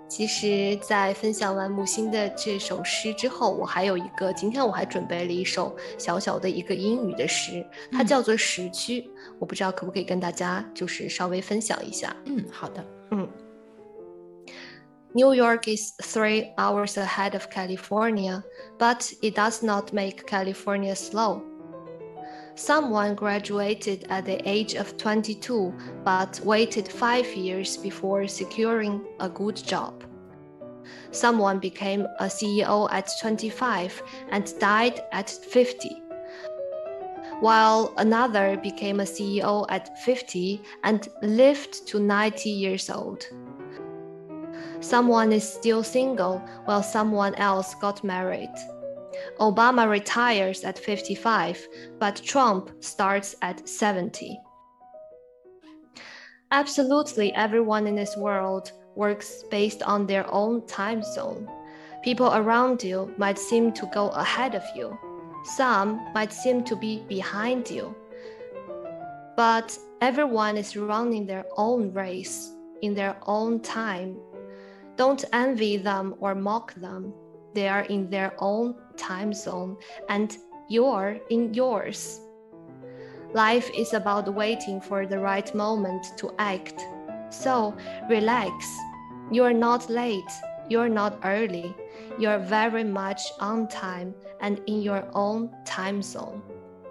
其实在分享完木星的这首诗之后，我还有一个，今天我还准备了一首小小的一个英语的诗，它叫做时区，我不知道可不可以跟大家就是稍微分享一下。 好的。 New York is 3 hours ahead of California, but it does not make California slow. Someone graduated at the age of 22, but waited 5 years before securing a good job. Someone became a CEO at 25 and died at 50, while another became a CEO at 50 and lived to 90 years old. Someone is still single while someone else got married. Obama retires at 55, but Trump starts at 70. Absolutely everyone in this world works based on their own time zone. People around you might seem to go ahead of you. Some might seem to be behind you. But everyone is running their own race in their own time. Don't envy them or mock them. They are in their own time zone, and you're in yours. Life is about waiting for the right moment to act. So relax. You're not late. You're not early. You're very much on time and in your own time zone.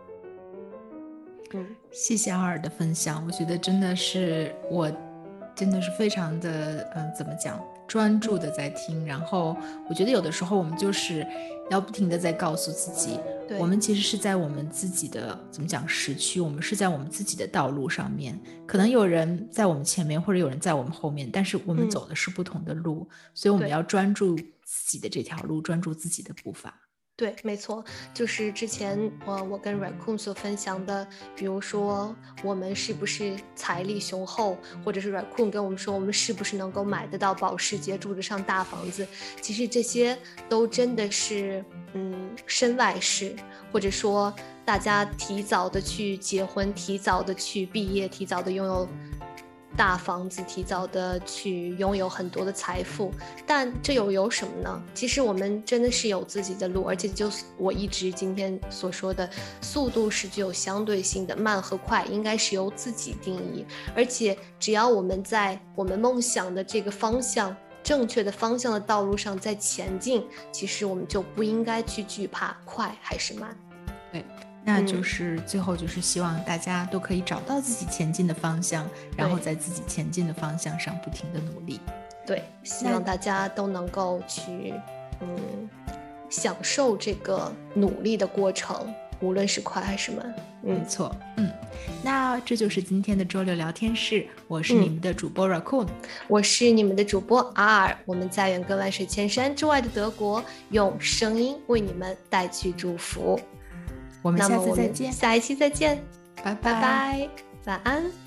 谢谢阿尔的分享，我觉得真的是非常的怎么讲，专注的在听，然后我觉得有的时候我们就是要不停的在告诉自己，我们其实是在我们自己的怎么讲时区，我们是在我们自己的道路上面，可能有人在我们前面或者有人在我们后面，但是我们走的是不同的路，所以我们要专注自己的这条路，专注自己的步伐。 对，没错，就是之前我跟 Raccoon 所分享的，比如说我们是不是财力雄厚，或者是 Raccoon 跟我们说我们是不是能够买得到保时捷，住得上大房子，其实这些都真的是身外事，或者说大家提早的去结婚，提早的去毕业，提早的拥有大房子，提早的去拥有很多的财富，但这又有什么呢？其实我们真的是有自己的路，而且就是我一直今天所说的，速度是具有相对性的，慢和快应该是由自己定义，而且只要我们在我们梦想的这个方向，正确的方向的道路上在前进，其实我们就不应该去惧怕快还是慢。 对，那就是最后就是希望大家都可以找到自己前进的方向，然后在自己前进的方向上不停的努力。 对，希望大家都能够去享受这个努力的过程，无论是快还是慢。 没错。那这就是今天的周六聊天室，我是你们的主播 Raccoon， 我是你们的主播 R， 我们在远隔万水千山之外的德国，用声音为你们带去祝福。 我们下次再见， 下一期再见， 拜拜，晚安。